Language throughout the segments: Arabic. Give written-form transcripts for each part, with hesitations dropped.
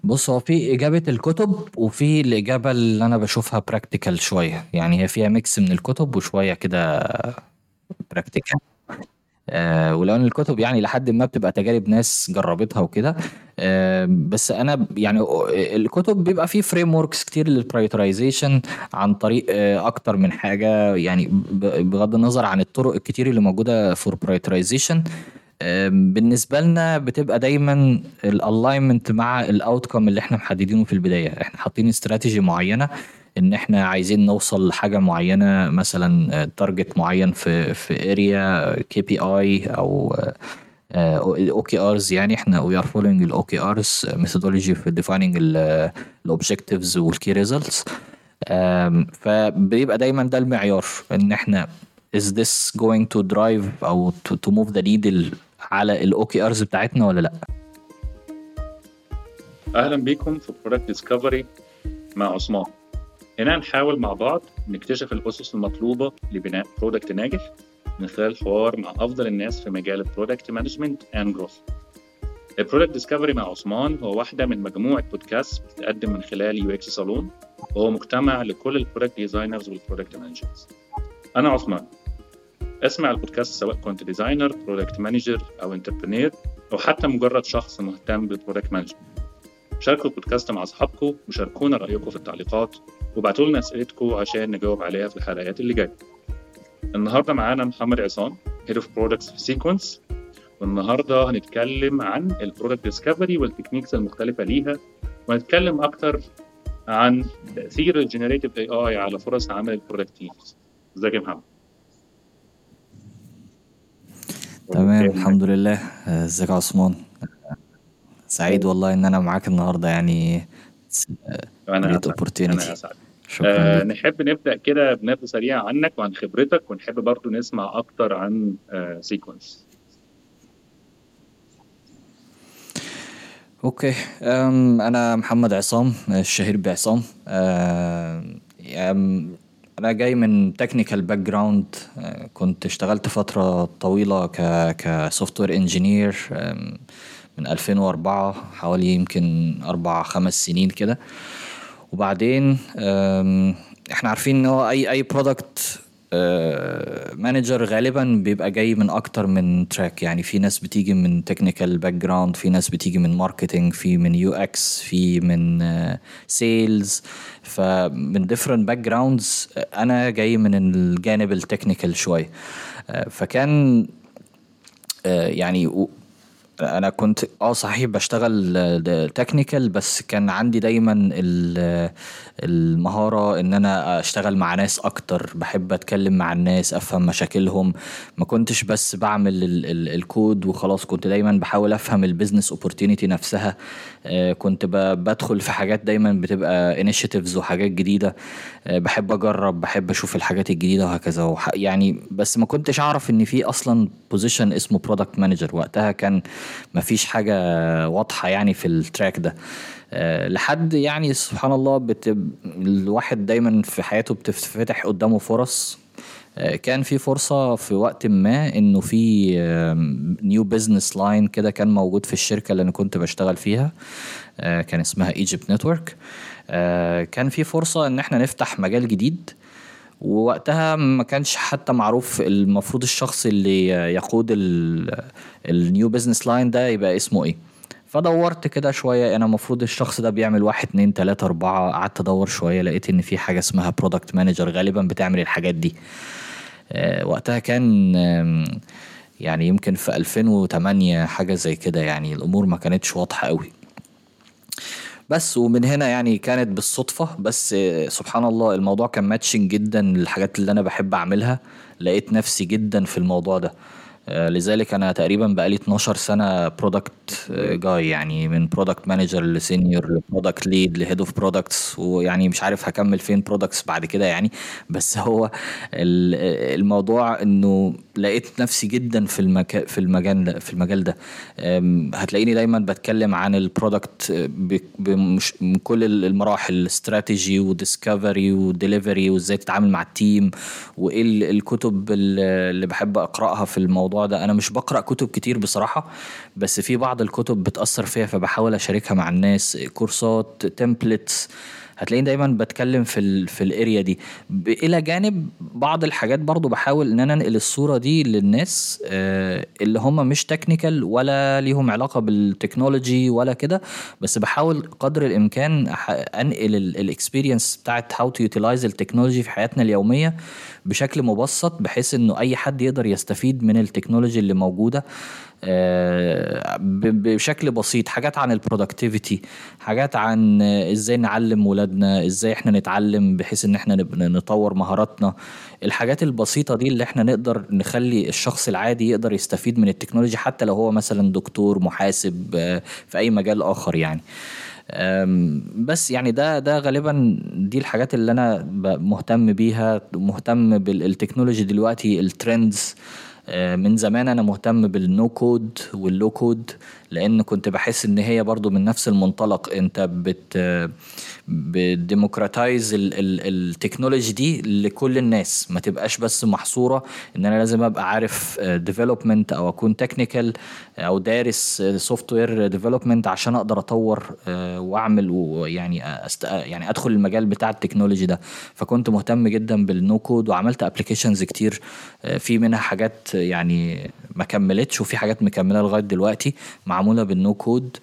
بص، هو في إجابة الكتب وفي الإجابة اللي أنا بشوفها براكتيكال شوية. يعني هي فيها ميكس من الكتب وشوية كده براكتيكال. ولو ان الكتب يعني لحد ما بتبقى تجارب ناس جربتها وكده. بس انا يعني الكتب بيبقى فيه فريم وركس كتير للبرايورتيزيشن عن طريق اكتر من حاجه. يعني بغض النظر عن الطرق الكتير اللي موجوده فور برايورتيزيشن، بالنسبه لنا بتبقى دايما الالاينمنت مع الاوتكم اللي احنا محددينه في البدايه. احنا حاطين استراتيجي معينه ان احنا عايزين نوصل لحاجه معينه، مثلا تارجت معين في اريا كي بي اي او الاو كي ارز. يعني احنا وي ار فولوينج الاو كي ارز ميثودولوجي في ديفايننج الاوبجكتيفز والكي ريزلتس. فبيبقى دايما ده المعيار ان احنا is this going to drive او to move the needle على الاو كي ارز بتاعتنا ولا لا. أهلا بكم في برودكت ديسكفري مع عثمان. هنا نحاول مع بعض نكتشف الأسس المطلوبة لبناء برودكت ناجح من خلال الحوار مع أفضل الناس في مجال البرودكت مانجمنت اند جروث. البرودكت ديسكفري مع عثمان هو واحدة من مجموعة بودكاست بتتقدم من خلال يو اكس صالون، وهو مجتمع لكل البرودكت ديزاينرز والبرودكت مانجرز. أنا عثمان. اسمع البودكاست سواء كنت ديزاينر، برودكت مانجر أو انتربرينور، أو حتى مجرد شخص مهتم بالبرودكت مانجمنت. شاركوا البودكاست مع أصحابكم وشاركونا رأيكم في التعليقات، وابعتوا لنا أسئلتكم عشان نجاوب عليها في الحلقات اللي جاية. النهاردة معانا محمد عصام Head of Products في سيكونس، والنهاردة هنتكلم عن البرودكت ديسكفري والتكنيكس المختلفة ليها، وهنتكلم أكتر عن تأثير الجنريتيف AI على فرص عمل البرودكت تيمز. ازيك يا محمد؟ تمام، الحمد لله. ازيك يا عثمان؟ سعيد والله ان انا معاك النهارده. يعني أنا great أسعد. opportunity. أنا أسعد. شكرا ليك. نحب نبدأ كده بنبذة سريعة عنك وعن خبرتك، ونحب برضو نسمع أكتر عن سيكونس. اوكي. انا محمد عصام، الشهير بعصام. انا جاي من تكنيكال باك جراوند. كنت اشتغلت فتره طويله كسوفت وير انجينير من 2004، حوالي يمكن 4 5 سنين كده. وبعدين احنا عارفين ان هو اي برودكت مانجر غالبا بيبقى جاي من اكتر من تراك. يعني في ناس بتيجي من تكنيكال باك جراوند، في ناس بتيجي من ماركتينج، في من يو اكس، في من سيلز. فمن different باك جراوندز. انا جاي من الجانب التكنيكال شويه. فكان يعني انا كنت صحيح بشتغل تكنيكال، بس كان عندي دايما المهارة ان انا اشتغل مع ناس اكتر. بحب اتكلم مع الناس، افهم مشاكلهم. ما كنتش بس بعمل الكود وخلاص، كنت دايما بحاول افهم البيزنس اوبورتينيتي نفسها. كنت بدخل في حاجات دايما بتبقى انيشيتيفز وحاجات جديدة. بحب اجرب، بحب اشوف الحاجات الجديدة وهكذا. يعني بس ما كنتش اعرف ان في اصلا بوزيشن اسمه برودكت مانجر. وقتها كان مفيش حاجة واضحة يعني في التراك ده. لحد يعني سبحان الله الواحد دايما في حياته بتفتح قدامه فرص. كان في فرصة في وقت ما انه في نيو بيزنس لاين كده كان موجود في الشركة اللي انا كنت بشتغل فيها. كان اسمها ايجيبت نتورك. كان في فرصة ان احنا نفتح مجال جديد. ووقتها ما كانش حتى معروف المفروض الشخص اللي يقود النيو بيزنس لاين ده يبقى اسمه ايه. فدورت كده شوية، انا المفروض الشخص ده بيعمل 1 2 3 4. قعدت ادور شوية، لقيت ان في حاجة اسمها برودكت مانجر غالبا بتعمل الحاجات دي. وقتها كان يعني يمكن في 2008 حاجة زي كده. يعني الامور ما كانتش واضحة قوي. بس ومن هنا يعني كانت بالصدفة. بس سبحان الله الموضوع كان ماتشنج جدا للحاجات اللي انا بحب اعملها. لقيت نفسي جدا في الموضوع ده. لذلك انا تقريبا بقالي 12 سنة برودكت جاي. يعني من برودكت مانجر لسينيور لبرودكت ليد لهيد اوف برودكتس. ويعني مش عارف هكمل فين برودكتس بعد كده يعني. بس هو الموضوع انه لقيت نفسي جدا في المجال ده. هتلاقيني دايما بتكلم عن البرودكت من كل المراحل، استراتيجي وديسكفري وديليفري، وازاي تتعامل مع التيم، وايه الكتب اللي بحب اقراها في الموضوع الموضوع ده. انا مش بقرأ كتب كتير بصراحة، بس في بعض الكتب بتأثر فيها فبحاول اشاركها مع الناس، كورسات، تمبلتس. هتلاقيني دايما بتكلم في الاريا دي، الى جانب بعض الحاجات برضو بحاول ان انا انقل الصورة دي للناس اللي هم مش تكنيكال ولا ليهم علاقة بالتكنولوجي ولا كده، بس بحاول قدر الامكان انقل الاكسبيرينس بتاعت هاو تو يوتيلايز التكنولوجي في حياتنا اليومية بشكل مبسط، بحيث انه اي حد يقدر يستفيد من التكنولوجي اللي موجودة بشكل بسيط. حاجات عن البرودكتيفيتي، حاجات عن ازاي نعلم ولادنا، ازاي احنا نتعلم بحيث ان احنا نطور مهاراتنا. الحاجات البسيطة دي اللي احنا نقدر نخلي الشخص العادي يقدر يستفيد من التكنولوجيا، حتى لو هو مثلا دكتور، محاسب، في اي مجال اخر يعني. بس يعني ده غالبا دي الحاجات اللي انا مهتم بيها، مهتم بالتكنولوجي دلوقتي، الترندز. من زمان انا مهتم بالنو كود واللو كود، لان كنت بحس ان هي برضو من نفس المنطلق، انت بتديموكراتايز التكنولوجي دي لكل الناس، ما تبقاش بس محصورة ان انا لازم ابقى عارف ديفلوبمنت او اكون تكنيكال او دارس سوفت وير ديفلوبمنت عشان اقدر اطور واعمل ويعني يعني ادخل المجال بتاع التكنولوجي ده. فكنت مهتم جدا بالنو كود وعملت ابلكيشنز كتير، في منها حاجات يعني ما كملتش وفي حاجات مكملة لغاية دلوقتي معمولة بالنو كود.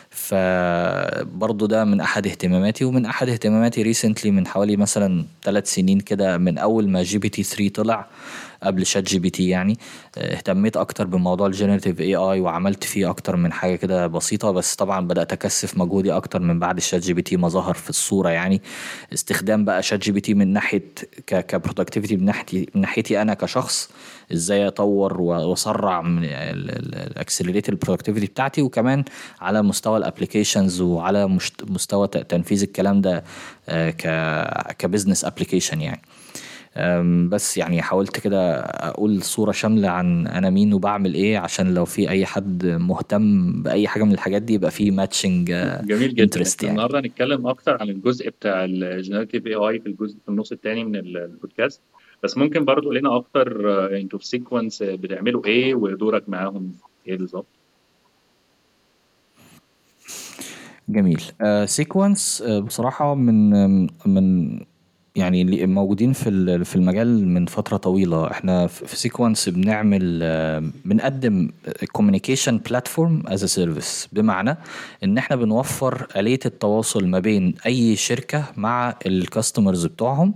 فبرضو ده من احد اهتماماتي. ومن احد اهتماماتي ريسنتلي من حوالي مثلا 3 سنين كده، من اول ما جي بي تي 3 طلع قبل شات جي بي تي يعني، اهتميت اكتر بموضوع الجينيراتيف اي اي وعملت فيه اكتر من حاجة كده بسيطة. بس طبعا بدأت اكثف مجهودي اكتر من بعد الشات جي بي تي ما ظهر في الصورة يعني. استخدام بقى شات جي بي تي من ناحية كبرودكتيفيتي، من ناحيتي انا كشخص، ازاي اطور واسرع من الاكسلريت البرودكتيفيتي بتاعتي، وكمان على مستوى الابليكيشنز وعلى مستوى تنفيذ الكلام ده كبزنس ابليكيشن يعني. بس يعني حاولت كده اقول صورة شاملة عن انا مين وبعمل ايه، عشان لو في اي حد مهتم باي حاجة من الحاجات دي يبقى في ماتشنج جميل جدا. انترست احنا يعني. النهارده هنتكلم اكتر عن الجزء بتاع الجينيراتيف اي اي في الجزء في النص الثاني من البودكاست. بس ممكن برضو تقول لنا اكتر انتوا في سيكونس بتعملوا ايه ودورك معاهم ايه بالظبط؟ جميل. سيكونس بصراحة من يعني اللي موجودين في المجال من فترة طويلة. احنا في سيكونس بنعمل بنقدم communication platform as a service، بمعنى ان احنا بنوفر آلية التواصل ما بين اي شركة مع الكاستمرز بتوعهم،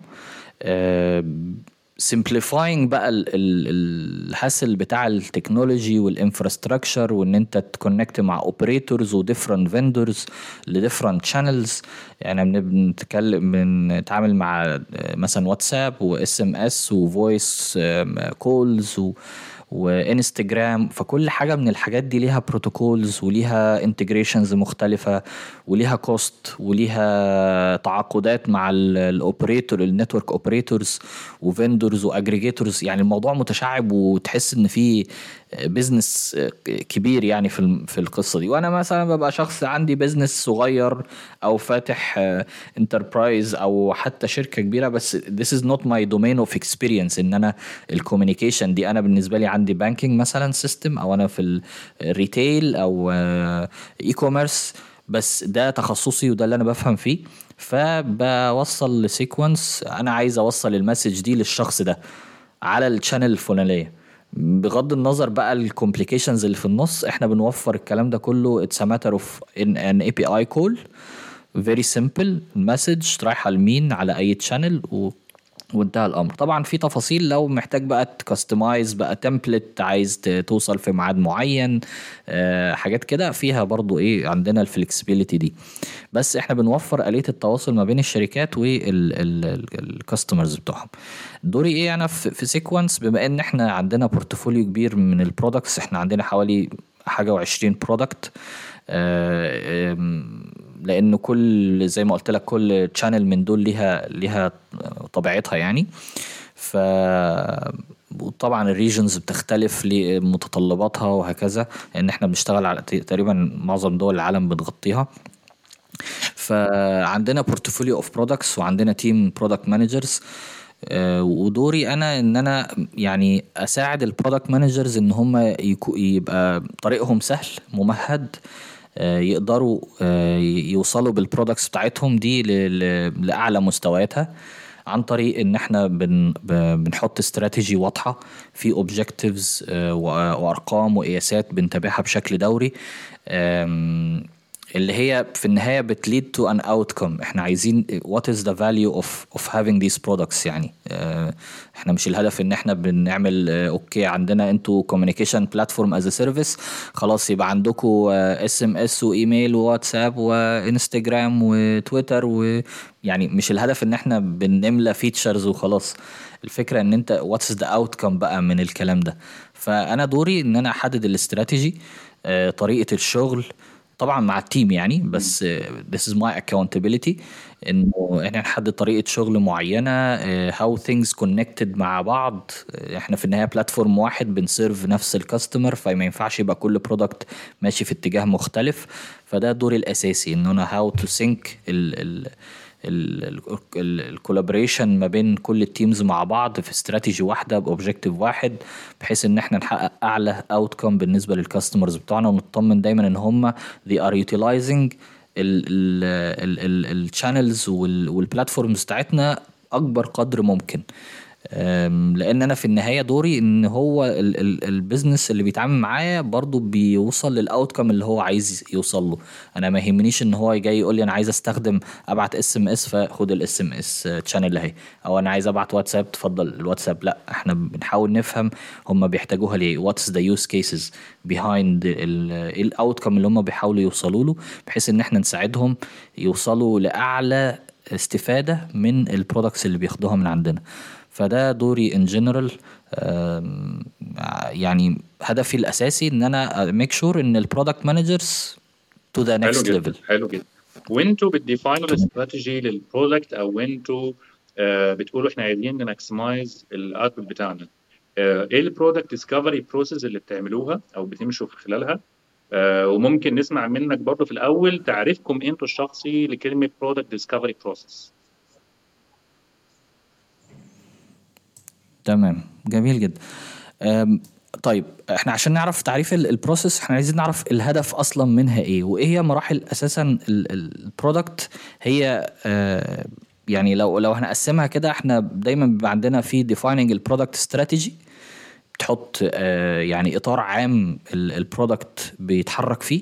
simplifying بقى الهاسل بتاع التكنولوجي والانفراستراكشر، وان انت تكونكت مع اوبريتورز وديفرنت فيندورز لديفرنت شانلز. يعني بنتعامل مع مثلا واتساب واس ام اس وفويس كولز وانستجرام. فكل حاجة من الحاجات دي ليها بروتوكولز وليها انتجريشنز مختلفة وليها كوست وليها تعاقدات مع الاوبريتور، النتورك اوبريتورز وفندورز واجريجيتورز. يعني الموضوع متشعب وتحس ان في بيزنس كبير يعني في القصة دي. وانا مثلا ببقى شخص عندي بيزنس صغير او فاتح انتربرايز او حتى شركة كبيرة، بس this is not my domain of experience. ان انا الكوميونيكيشن دي، انا بالنسبة لي عندي بانكينج مثلا سيستم، او انا في الريتيل او اي كوميرس، بس ده تخصصي وده اللي انا بفهم فيه. فبوصل لسيكونس انا عايز اوصل المسج دي للشخص ده على الشانل الفلانية، بغض النظر بقى الكومبليكيشنز اللي في النص. احنا بنوفر الكلام ده كله. it's a matter of an API call very simple، المسج رايحة لمين على اي تشانل وانتهى الامر. طبعا في تفاصيل لو محتاج بقى تكستمايز بقى تمبلت، عايز توصل في ميعاد معين، حاجات كده فيها برضو ايه عندنا الفلكسبيليتي دي. بس احنا بنوفر آلية التواصل ما بين الشركات والكاستمرز بتوعهم. دوري ايه انا في سيكونس؟ بما ان احنا عندنا بورتفوليو كبير من البرودكتس، احنا عندنا حوالي حاجة و20 برودكت، لانه كل زي ما قلت لك كل تشانل من دول ليها طبيعتها يعني. ف وطبعا الريجنز بتختلف لمتطلباتها وهكذا، لان احنا بنشتغل على تقريبا معظم دول العالم بنغطيها. فعندنا بورتفوليو اوف برودكتس وعندنا تيم برودكت مانجرز. ودوري انا ان انا يعني اساعد البرودكت مانجرز ان هم يبقى طريقهم سهل ممهد، يقدروا يوصلوا بالبرودكتس بتاعتهم دي لاعلى مستوياتها، عن طريق ان احنا بنحط استراتيجي واضحة في اوبجكتيفز وارقام وقياسات بنتابعها بشكل دوري، اللي هي في النهاية بتليد to an outcome. احنا عايزين what is the value of having these products. يعني احنا مش الهدف ان احنا بنعمل اوكي عندنا انتوا communication platform as a service، خلاص يبقى عندكم SMS وايميل وواتساب وانستجرام وتويتر يعني مش الهدف ان احنا بنملى فيتشرز وخلاص. الفكرة ان انت what's the outcome بقى من الكلام ده. فانا دوري ان انا احدد الاستراتيجي، طريقة الشغل طبعا مع التيم يعني، بس this is my accountability انه احنا نحدد طريقة شغل معينة، how things connected مع بعض. احنا في النهاية بلاتفورم واحد بنسيرف نفس الكاستمر، فما ينفعش يبقى كل برودكت ماشي في اتجاه مختلف. فده دوري الاساسي ان انا how to sync الكولابريشن ما بين كل التيمز مع بعض في استراتيجي واحده باوبجيكتيف واحد، بحيث ان احنا نحقق اعلى اوتكم بالنسبه للكاستمرز بتوعنا، ونطمن دايما ان هم they are utilizing الشانلز والبلاتفورمز بتاعتنا اكبر قدر ممكن. لان انا في النهايه دوري ان هو البيزنس اللي بيتعامل معايا برضو بيوصل للاوتكم اللي هو عايز يوصل له. انا ما يهمنيش ان هو جاي يقول لي انا عايز استخدم ابعت SMS فخد SMS تشانل اهي، او انا عايز ابعت واتساب تفضل الواتساب. لا، احنا بنحاول نفهم هم بيحتاجوها ليه، واتس ذا يوز كيسز بيهايند الاوتكم اللي هم بيحاولوا يوصلوا له، بحيث ان احنا نساعدهم يوصلوا لاعلى استفاده من البرودكتس اللي بياخدوها من عندنا. فده دوري in general. يعني هدفي الأساسي إن أنا make sure إن البرودكت مانجرز to the next level. حلو جدا. وانتوا بتديفاينوا الاستراتيجي للبرودكت، او انتوا بتقولوا احنا عايزين نماكسمايز الاوتبوت بتاعنا، ايه البرودكت ديسكفري بروسيس اللي بتعملوها او بتمشوا في خلالها؟ وممكن نسمع منك برضه في الاول تعريفكم انتوا الشخصي لكلمه برودكت ديسكفري بروسيس. تمام، جميل جدا. طيب احنا عشان نعرف تعريف البروسيس احنا عايزين نعرف الهدف اصلا منها ايه، وايه هي مراحل اساسا البرودكت. هي يعني لو هنقسمها كده، احنا دايما بيبقى عندنا في defining البرودكت استراتيجي، بتحط يعني اطار عام البرودكت بيتحرك فيه،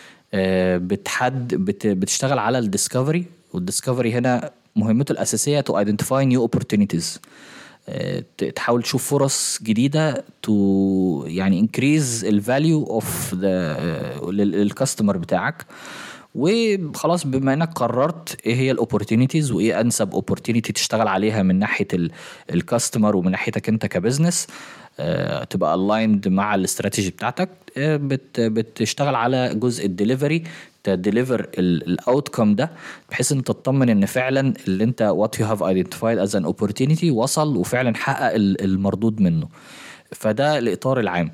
بتشتغل على الديسكفري، والديسكفري هنا مهمته الاساسيه to identify new opportunities، تحاول تشوف فرص جديدة يعني increase الفاليو اوف للكاستمر بتاعك. وخلاص بما انك قررت ايه هي الاوبورتونيتيز وايه انسب اوبورتونيتي تشتغل عليها من ناحية الكاستمر ومن ناحيتك انت كبزنس، تبقى aligned مع الاستراتيجي بتاعتك، بتشتغل على جزء الدليفري، تديليفر الاوتكم ده، بحيث ان تطمن ان فعلا اللي انت what you have identified as an opportunity وصل وفعلا حقق المردود منه. فده الاطار العام.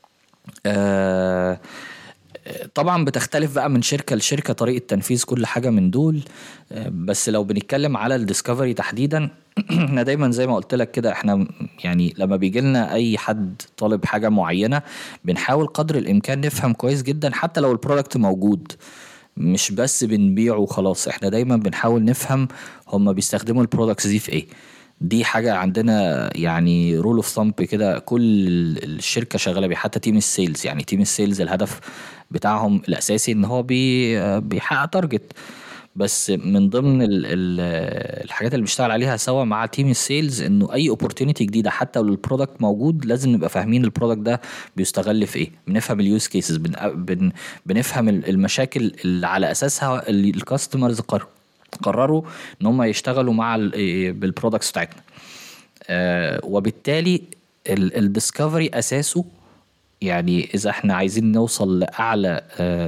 طبعا بتختلف بقى من شركة لشركة طريقة تنفيذ كل حاجة من دول. بس لو بنتكلم على الديسكفري تحديدا، احنا دايما زي ما قلت لك كده، احنا يعني لما بيجي لنا اي حد طالب حاجة معينة بنحاول قدر الامكان نفهم كويس جدا، حتى لو البرودكت موجود مش بس بنبيعه وخلاص. احنا دايما بنحاول نفهم هم بيستخدموا البرودكتس دي في ايه. دي حاجة عندنا يعني رول اوف ثامب كده، كل الشركة شغالة بيه، حتى تيم السيلز. يعني تيم السيلز الهدف بتاعهم الاساسي ان هو بيحقق تارجت، بس من ضمن الحاجات اللي بنشتغل عليها سوا مع تيم السيلز انه اي اوبورتونيتي جديده حتى لو البرودكت موجود لازم نبقى فاهمين البرودكت ده بيستغل في ايه، بنفهم اليوز كيسز، بنفهم المشاكل اللي على اساسها الكاستمرز قرروا ان هم يشتغلوا مع بالبرودكتس بتاعتنا. وبالتالي الديسكفري اساسه، يعني اذا احنا عايزين نوصل لاعلى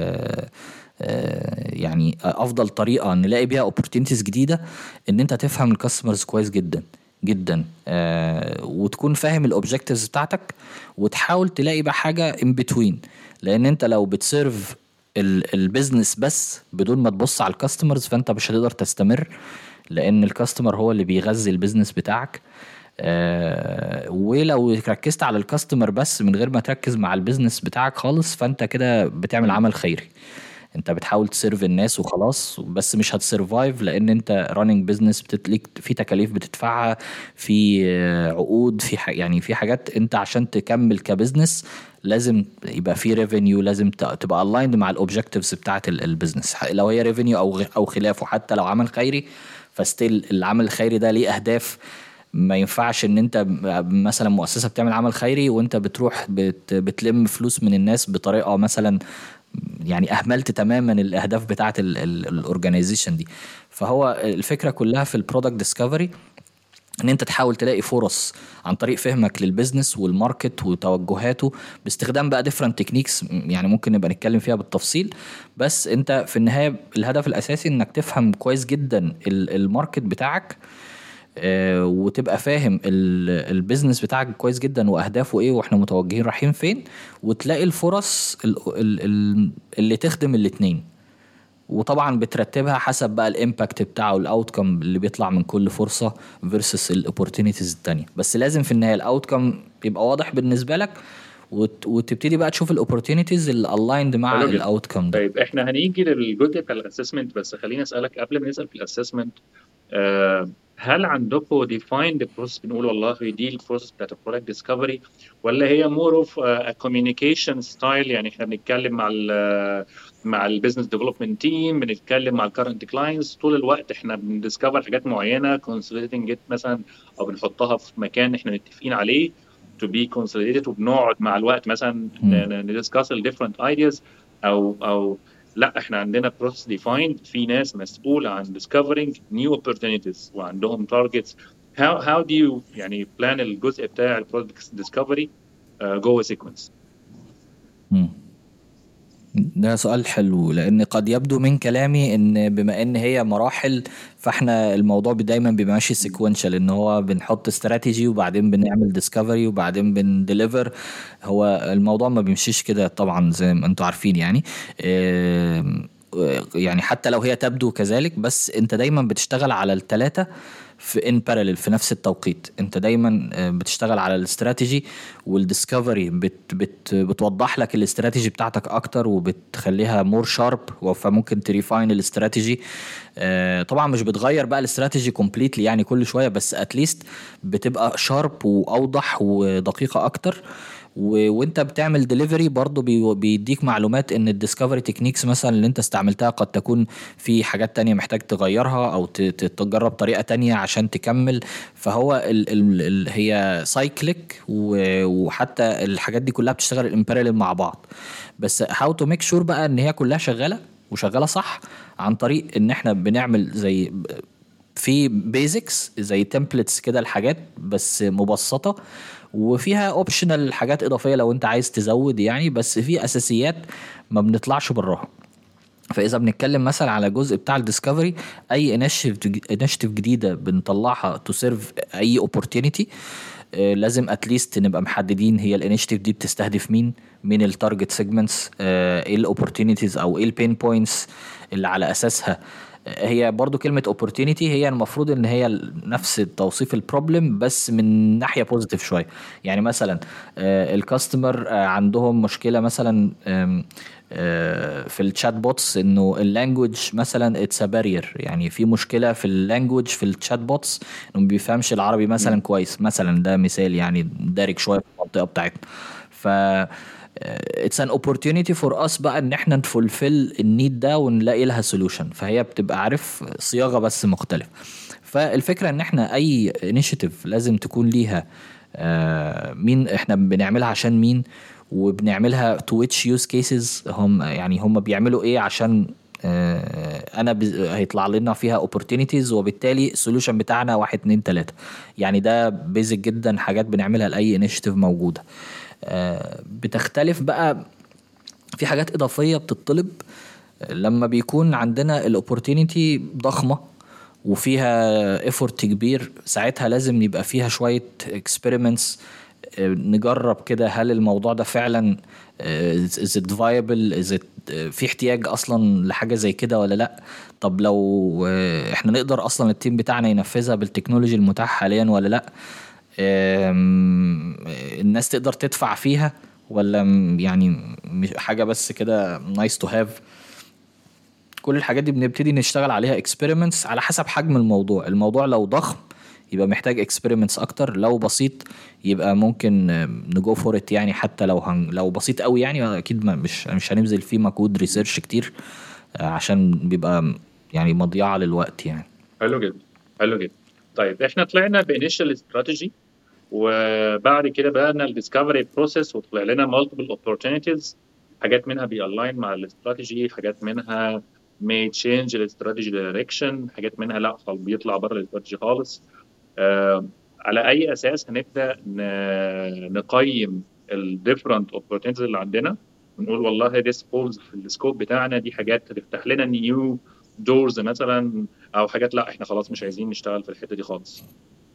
يعني افضل طريقه نلاقي بيها opportunities جديده، ان انت تفهم الكاستمرز كويس جدا جدا، وتكون فاهم الاوبجكتيفز بتاعتك، وتحاول تلاقي بقى حاجه in between. لان انت لو بتسيرف البيزنس بس بدون ما تبص على الكاستمرز، فانت مش هتقدر تستمر، لان الكاستمر هو اللي بيغذي البيزنس بتاعك. ولو ركزت على الكاستمر بس من غير ما تركز مع البيزنس بتاعك خالص، فانت كده بتعمل مم. عمل خيري. انت بتحاول تسيرف الناس وخلاص، بس مش هتسرفايف، لان انت راننج بيزنس بتتليك في تكاليف بتدفعها، في عقود، في يعني في حاجات انت عشان تكمل كبزنس لازم يبقى في ريفينيو، لازم تبقى الايند مع الاوبجكتيفز بتاعت البيزنس، لو هي ريفينيو او خلافه. حتى لو عمل خيري، فستيل العمل الخيري ده ليه اهداف. ما ينفعش ان انت مثلا مؤسسة بتعمل عمل خيري وانت بتروح بتلم فلوس من الناس بطريقة مثلا، يعني اهملت تماما الاهداف بتاعه الاورجانيزيشن دي. فهو الفكره كلها في البرودكت ديسكفري، ان انت تحاول تلاقي فرص عن طريق فهمك للبيزنس والماركت وتوجهاته، باستخدام بقى ديفرنت تكنيكس، يعني ممكن نبقى نتكلم فيها بالتفصيل. بس انت في النهايه الهدف الاساسي انك تفهم كويس جدا الماركت بتاعك، وتبقى فاهم البيزنس بتاعك كويس جدا واهدافه ايه، واحنا متوجهين رايحين فين، وتلاقي الفرص اللي تخدم الاتنين. وطبعا بترتبها حسب بقى الامباكت بتاعه، الاوتكم اللي بيطلع من كل فرصة versus الاوبورتونيتيز التانية. بس لازم في النهاية الاوتكم يبقى واضح بالنسبة لك، وتبتدي بقى تشوف الاوبورتونيتيز اللي aligned مع حلو جدا. الاوتكم ده. طيب احنا هنيجي للجزء بتاع الاسسمنت، بس خليني اسالك قبل ما نسال في الاسسمنت، هل عندكم defined process بنقول والله دي البروسيس بتاعت البرودكت ديسكفري، ولا هي more of a communication style؟ يعني احنا بنتكلم مع البيزنس ديفلوبمنت تيم، بنتكلم مع الكرنت كلاينتس طول الوقت، احنا بندسكفر حاجات معينه consolidating it مثلا، او بنحطها في مكان احنا متفقين عليه to be consolidated، وبنقعد مع الوقت مثلا مم. ندسكاس ال different ideas، او لا احنا عندنا process defined، في ناس مسؤولة عن discovering new opportunities وعندهم targets. how do you يعني plan الجزء بتاع ال product discovery جوه sequence؟ مم. ده سؤال حلو، لان قد يبدو من كلامي ان بما ان هي مراحل، فاحنا الموضوع دايما بيبقى ماشي سيكونشال، ان هو بنحط استراتيجي وبعدين بنعمل ديسكفري وبعدين بنديليفر. هو الموضوع ما بيمشيش كده طبعا زي ما انتوا عارفين يعني. يعني حتى لو هي تبدو كذلك، بس انت دايما بتشتغل على الثلاثة في ان باراليل في نفس التوقيت. انت دايما بتشتغل على الاستراتيجي والديسكفري، بتوضح لك الاستراتيجي بتاعتك اكتر وبتخليها مور شارب، فممكن تريفاين الاستراتيجي. طبعا مش بتغير بقى الاستراتيجي كومبليتلي يعني كل شويه، بس اتليست بتبقى شارب واوضح ودقيقه اكتر. وانت بتعمل ديليفري برضو بيديك معلومات ان الديسكفري تكنيكس مثلا اللي انت استعملتها قد تكون في حاجات تانية محتاج تغيرها، او تجرب طريقة تانية عشان تكمل. فهو هي سايكليك، وحتى الحاجات دي كلها بتشتغل الامباريل مع بعض. بس هاو تو ميك شور بقى ان هي كلها شغالة وشغالة صح، عن طريق ان احنا بنعمل زي في بيزكس زي تمبلتس كده الحاجات بس مبسطة، وفيها اوبشنال حاجات اضافيه لو انت عايز تزود يعني، بس في اساسيات ما بنطلعش براها. فاذا بنتكلم مثلا على جزء بتاع الديسكفري، اي انيشيتيف جديده بنطلعها تو سيرف اي اوبورتونيتي، لازم اتليست نبقى محددين هي الانيشيتيف دي بتستهدف مين التارجت سيجمنتس، ايه الاوبورتونيتيز او ايه البين بوينتس اللي على اساسها. هي برضو كلمة opportunity هي المفروض ان هي نفس توصيف البروبلم بس من ناحية بوزيتيف شوية. يعني مثلا الكاستمر عندهم مشكلة مثلا في الشات بوتس، انه اللانجوج مثلا اتس بارير، يعني في مشكلة في اللانجوج في الشات بوتس، انه ما بيفهمش العربي مثلا كويس مثلا. ده مثال يعني دارج شوية في المنطقة بتاعتنا. ف it's an opportunity for us بقى ان احنا نفولفل النيد ده ونلاقي لها سولوشن. فهي بتبقى عارف صياغة بس مختلف. فالفكرة ان احنا اي انيشيتيف لازم تكون ليها مين احنا بنعملها عشان مين، وبنعملها to which use cases، هم بيعملوا ايه عشان هيطلع لنا فيها opportunities، وبالتالي السولوشن بتاعنا 1 2 3. يعني ده بيزك جدا حاجات بنعملها لأي انيشيتيف موجودة. بتختلف بقى في حاجات إضافية بتطلب لما بيكون عندنا الاوبورتينيتي ضخمة وفيها effort كبير. ساعتها لازم يبقى فيها شوية experiments، نجرب كده هل الموضوع ده فعلا is it viable، is it في احتياج اصلا لحاجه زي كده ولا لا؟ طب لو احنا نقدر اصلا التيم بتاعنا ينفذها بالتكنولوجي المتاح حاليا ولا لا؟ الناس تقدر تدفع فيها ولا يعني مش حاجه بس كده nice to have؟ كل الحاجات دي بنبتدي نشتغل عليها experiments على حسب حجم الموضوع لو ضخم يبقى محتاج experiments اكتر، لو بسيط يبقى ممكن نجو فور ات يعني. حتى لو بسيط قوي يعني اكيد مش هنبذل فيه مجهود ريسيرش كتير عشان بيبقى يعني مضيعة للوقت يعني. حلو جدا، حلو جدا. طيب احنا طلعنا بانيشال استراتيجي، وبعد كده بدأنا الديسكفري بروسيس وطلع لنا مالتيبل اوبورتونيتيز. حاجات منها بيالاين مع الاستراتيجي، حاجات منها may change الاستراتيجي دايركشن، حاجات منها لا بيطلع بره الاستراتيجي خالص. على اي اساس هنبدا نقيم الديفرنت اوبورتونيتيز اللي عندنا ونقول والله this falls في السكوب بتاعنا، دي حاجات تفتح لنا نيو دورز مثلا، او حاجات لا احنا خلاص مش عايزين نشتغل في الحته دي خالص.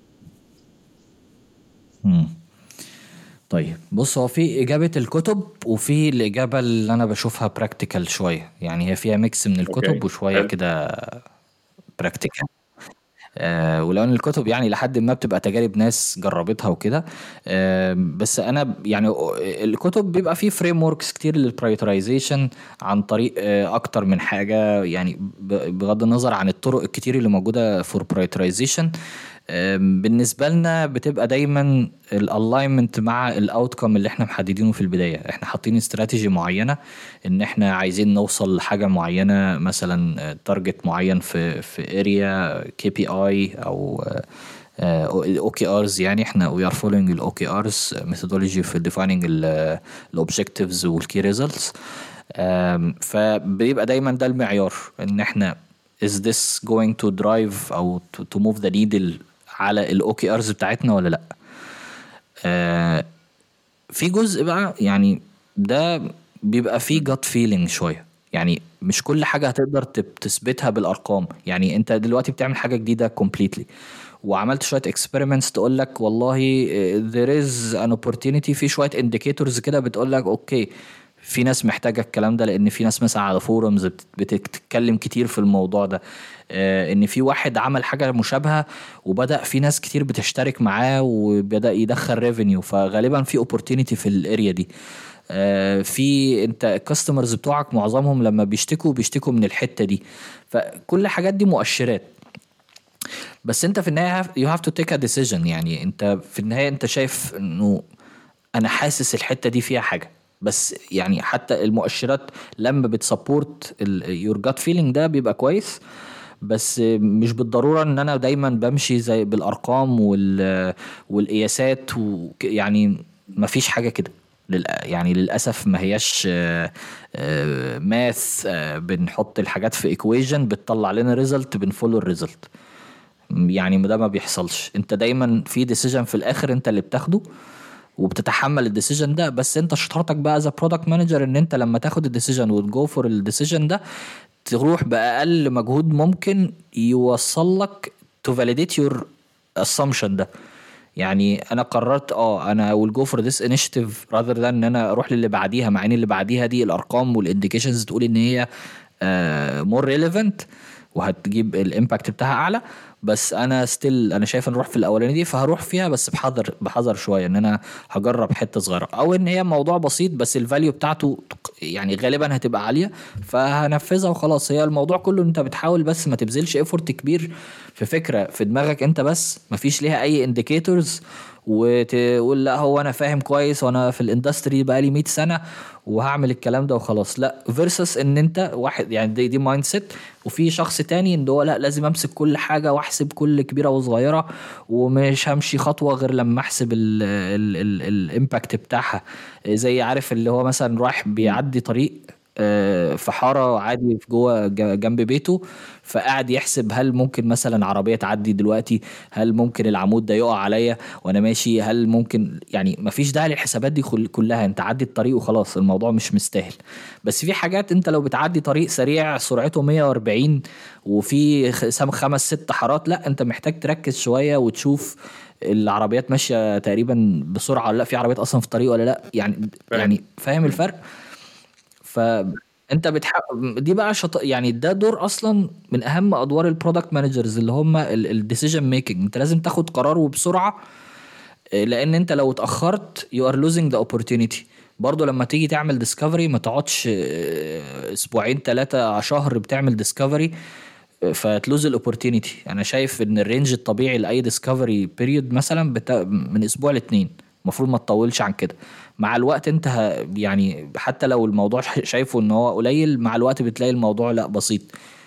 طيب بص، هو في إجابة الكتب وفي الإجابة اللي أنا بشوفها براكتيكال شوية، يعني هي فيها ميكس من الكتب اوكي وشوية حلو. كده براكتيكال. ولو ان الكتب يعني لحد ما بتبقى تجارب ناس جربتها وكده. بس انا يعني الكتب بيبقى فيه فريم وركس كتير للبرايورتايزيشن عن طريق اكتر من حاجه يعني، بغض النظر عن الطرق الكتير اللي موجوده فور برايورتايزيشن. بالنسبه لنا بتبقى دايما الالاينمنت مع الاوتكم اللي احنا محددينه في البدايه. احنا حاطين استراتيجي معينه ان احنا عايزين نوصل لحاجه معينه، مثلا تارجت معين في اريا كي بي اي او الاو كي ارز. يعني احنا وي ار فولوينج الاو كي ارز ميثودولوجي في ديفايننج الاوبجكتيفز والكي ريزلتس. فبيبقى دايما ده المعيار، ان احنا is this going to drive او to move the needle على الاو كي ارز بتاعتنا ولا لا. في جزء بقى يعني ده بيبقى فيه gut feeling شويه، يعني مش كل حاجه هتقدر تثبتها بالارقام. يعني انت دلوقتي بتعمل حاجه جديده completely وعملت شويه experiments تقول لك والله there is an opportunity، في شويه indicators كده بتقول لك اوكي في ناس محتاجه الكلام ده، لان في ناس مثلا على فورums بتتكلم كتير في الموضوع ده. ان في واحد عمل حاجه مشابهه وبدا في ناس كتير بتشترك معاه وبدا يدخل ريفينيو، فغالبا في opportunity في الاريا دي. في انت الكاستمرز بتوعك معظمهم لما بيشتكوا من الحته دي. فكل الحاجات دي مؤشرات، بس انت في النهايه you have to take a decision. يعني انت في النهايه انت شايف انه انا حاسس الحته دي فيها حاجه، بس يعني حتى المؤشرات لما بتسبورت your gut feeling ده بيبقى كويس، بس مش بالضروره ان انا دايما بمشي زي بالارقام والقياسات يعني ما فيش حاجه كده. يعني للاسف ما هياش ماث بنحط الحاجات في equation بتطلع لنا ريزلت بنفولو الريزلت. يعني ده ما بيحصلش. انت دايما في ديسيجن في الاخر انت اللي بتاخده وبتتحمل الديسيجن ده، بس انت شطارتك بقى از برودكت مانجر ان انت لما تاخد الديسيجن وتجو فور الديسيجن ده تروح باقل مجهود ممكن يوصل لك تو فاليديت يور assumption ده. يعني انا قررت انا will go for this initiative rather than ان انا اروح للي بعديها، مع ان اللي بعديها دي الارقام والانديكيشنز تقول ان هي more relevant وهتجيب الامباكت بتاعها اعلى، بس انا ستيل انا شايف ان اروح في الاولانيه دي، فهروح فيها بس بحذر شويه، ان انا هجرب حته صغيره او ان هي موضوع بسيط بس الفاليو بتاعته يعني غالبا هتبقى عاليه فهنفذها وخلاص. هي الموضوع كله انت بتحاول بس ما تبذلش ايفورت كبير في فكره في دماغك انت، بس ما فيش ليها اي انديكيتورز وتقول لا هو انا فاهم كويس وانا في الاندستري بقالي 100 سنه وهعمل الكلام ده وخلاص. لا، فيرسس ان انت واحد يعني دي مايند سيت، وفي شخص تاني ان هو لا لازم امسك كل حاجه واحسب كل كبيره وصغيره ومش همشي خطوه غير لما احسب الامباكت بتاعها. زي عارف اللي هو مثلا رايح بيعدي طريق في حاره عادي في جوه جنب بيته، فقاعد يحسب هل ممكن مثلا عربيه تعدي دلوقتي، هل ممكن العمود ده يقع عليا وانا ماشي، هل ممكن يعني مفيش داعي للحسابات دي كلها، انت عدي الطريق وخلاص الموضوع مش مستاهل. بس في حاجات انت لو بتعدي طريق سريع سرعته 140 وفي 5-6 حارات، لا انت محتاج تركز شويه وتشوف العربيات ماشيه تقريبا بسرعه ولا لا، في عربيات اصلا في الطريق ولا لا، يعني فاهم الفرق. ف انت دي بقى يعني ده دور اصلا من اهم ادوار البرودكت مانجرز، اللي هم الديسيجن ميكنج. انت لازم تاخد قرار وبسرعه، لان انت لو اتاخرت you are losing the opportunity. برضو لما تيجي تعمل ديسكفري ما تقعدش اسبوعين ثلاثة شهر بتعمل ديسكفري فتلوز الاوبورتينيتي. انا شايف ان الرينج الطبيعي لاي ديسكفري بيريود مثلا من اسبوع لاتنين، المفروض ما تطولش عن كده. مع الوقت انت يعني حتى لو الموضوع شايفه ان هو قليل، مع الوقت بتلاقي الموضوع لا بسيط،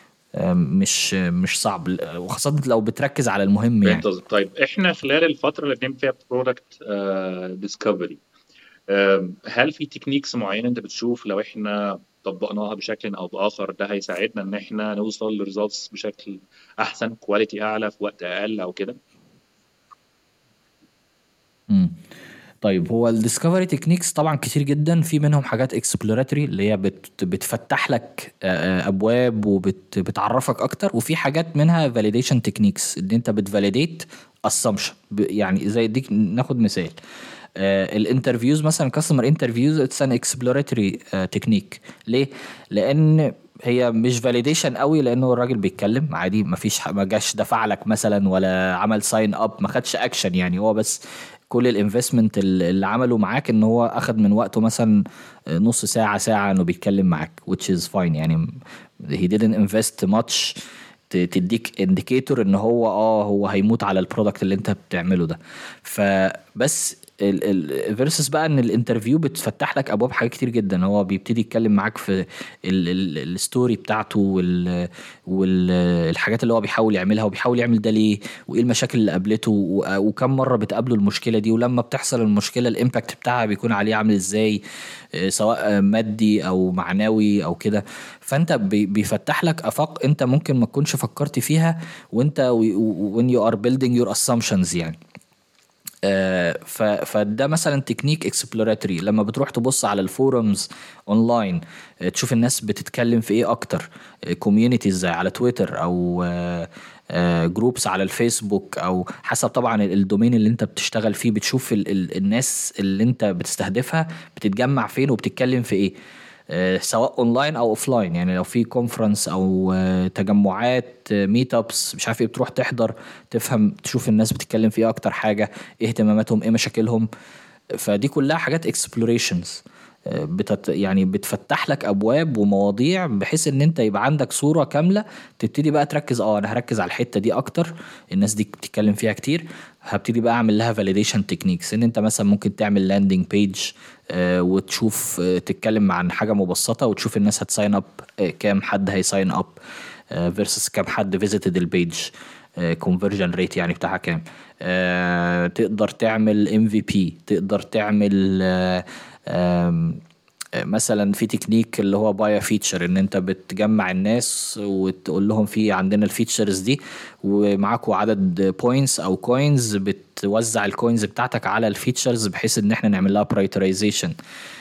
مش صعب، وخاصة لو بتركز على المهم يعني. فهمت قصدك. طيب احنا خلال الفتره اللي بنعمل فيها برودكت ديسكفري، هل في تكنيكس معينه انت بتشوف لو احنا طبقناها بشكل او باخر ده هيساعدنا ان احنا نوصل لريزلتس بشكل احسن، كواليتي اعلى في وقت اقل او كده؟ مم. طيب هو الديسكفري تكنيكس طبعا كتير جدا، في منهم حاجات اكسبلوراتوري اللي هي بتفتح لك ابواب وبتعرفك اكتر، وفي حاجات منها فاليديشن تكنيكس ان انت بتفاليديت اسامبشن. يعني زي ديك ناخد مثال الانترفيوز مثلا، كاستمر انترفيوز اتس ان اكسبلوراتوري تكنيك. ليه؟ لان هي مش فاليديشن قوي، لانه الراجل بيتكلم عادي، ما جاش دفع لك مثلا ولا عمل ساين اب، ما خدش اكشن يعني، هو بس كل الانفستمنت اللي عمله معاك ان هو اخد من وقته مثلا نص ساعة ساعة انه بيتكلم معاك which is fine يعني. he didn't invest much تديك انديكيتور ان هو هيموت على البرودكت اللي انت بتعمله ده. فبس الفيرسس بقى ان الانترفيو بتفتح لك ابواب حاجات كتير جدا. هو بيبتدي يتكلم معاك في الستوري بتاعته والحاجات اللي هو بيحاول يعملها، وبيحاول يعمل ده ليه، وايه المشاكل اللي قابلته، وكم مره بتقابله المشكله دي، ولما بتحصل المشكله الامباكت بتاعها بيكون عليه عامل ازاي، سواء مادي او معنوي او كده. فانت بيفتح لك افاق انت ممكن ما تكونش فكرت فيها وانت when you are building your assumptions يعني. فده مثلا تكنيك اكسبلوراتوري. لما بتروح تبص على الفورums اونلاين، تشوف الناس بتتكلم في ايه اكتر، كوميونيتيز زي على تويتر او جروبس على الفيسبوك، او حسب طبعا الدومين اللي انت بتشتغل فيه، بتشوف الناس اللي انت بتستهدفها بتتجمع فين وبتتكلم في ايه، سواء اونلاين او اوفلاين. يعني لو في كونفرنس او تجمعات ميت ابس مش عارف ايه، بتروح تحضر تفهم، تشوف الناس بتتكلم في ايه اكتر حاجه، ايه اهتماماتهم، ايه مشاكلهم. فدي كلها حاجات اكسبلوريشنز يعني بتفتح لك ابواب ومواضيع بحيث ان انت يبقى عندك صورة كاملة، تبتدي بقى تركز انا هركز على الحتة دي اكتر، الناس دي بتتكلم فيها كتير، هبتدي بقى اعمل لها فاليديشن تكنيكس. ان انت مثلا ممكن تعمل لاندنج بيج وتشوف تتكلم عن حاجة مبسطة وتشوف الناس هتساين اب، كام حد هيساين اب فيرسس كام حد فيزيتد البيج، كونفرجن ريت يعني بتاعها كام. تقدر تعمل MVP، تقدر تعمل مثلا في تكنيك اللي هو بايا فيتشر، ان انت بتجمع الناس وتقول لهم في عندنا الفيتشرز دي ومعاكوا عدد بوينتس او كوينز، بتوزع الكوينز بتاعتك على الفيتشرز بحيث ان احنا نعمل لها برايورتيزيشن.